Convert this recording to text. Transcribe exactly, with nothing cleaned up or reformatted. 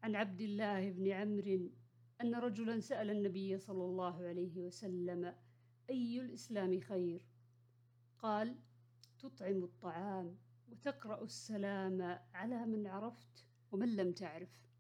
عن عبد الله بن عمرو أن رجلا سأل النبي صلى الله عليه وسلم: أي الإسلام خير؟ قال: تطعم الطعام وتقرأ السلام على من عرفت ومن لم تعرف.